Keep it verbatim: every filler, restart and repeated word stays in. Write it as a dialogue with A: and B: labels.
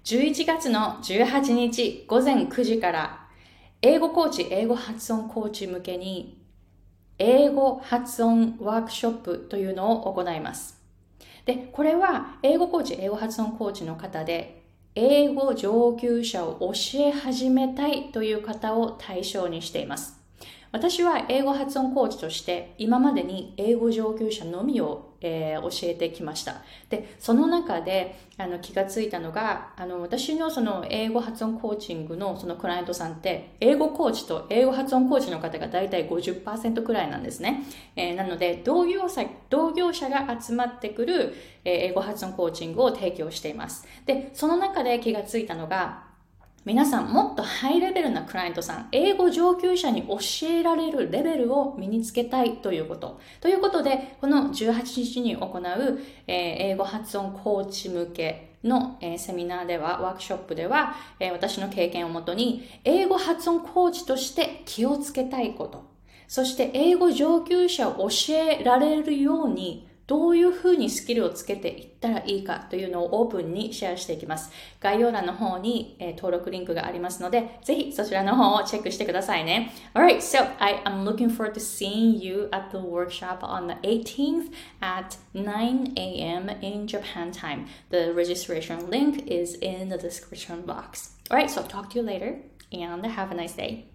A: じゅういちがつのじゅうはちにち午前くじから英語コーチ、英語発音コーチ向けに英語発音ワークショップというのを行います。で、これは英語コーチ、英語発音コーチの方で英語上級者を教え始めたいという方を対象にしています。私は英語発音コーチとして今までに英語上級者のみを、えー、教えてきました。で、その中であの気がついたのが、あの私のその英語発音コーチングのそのクライアントさんって英語コーチと英語発音コーチの方がだいたい ごじゅっパーセント くらいなんですね。えー、なので同業者、同業者が集まってくる、えー、英語発音コーチングを提供しています。で、その中で気がついたのが、皆さんもっとハイレベルなクライアントさん、英語上級者に教えられるレベルを身につけたいということ。ということで、このじゅうはちにちに行う、えー、英語発音コーチ向けの、えー、セミナーでは、ワークショップでは、えー、私の経験をもとに、英語発音コーチとして気をつけたいこと、そして英語上級者を教えられるように、どういうふうにスキルをつけていったらいいかというのをオープンにシェアしていきます。概要欄の方に、えー、登録リンクがありますので、ぜひそちらの方をチェックしてくださいね。Alright, so I am looking forward to seeing you at the workshop on the eighteenth at nine a.m. in Japan time. The registration link is in the description box. Alright, so talk to you later and have a nice day.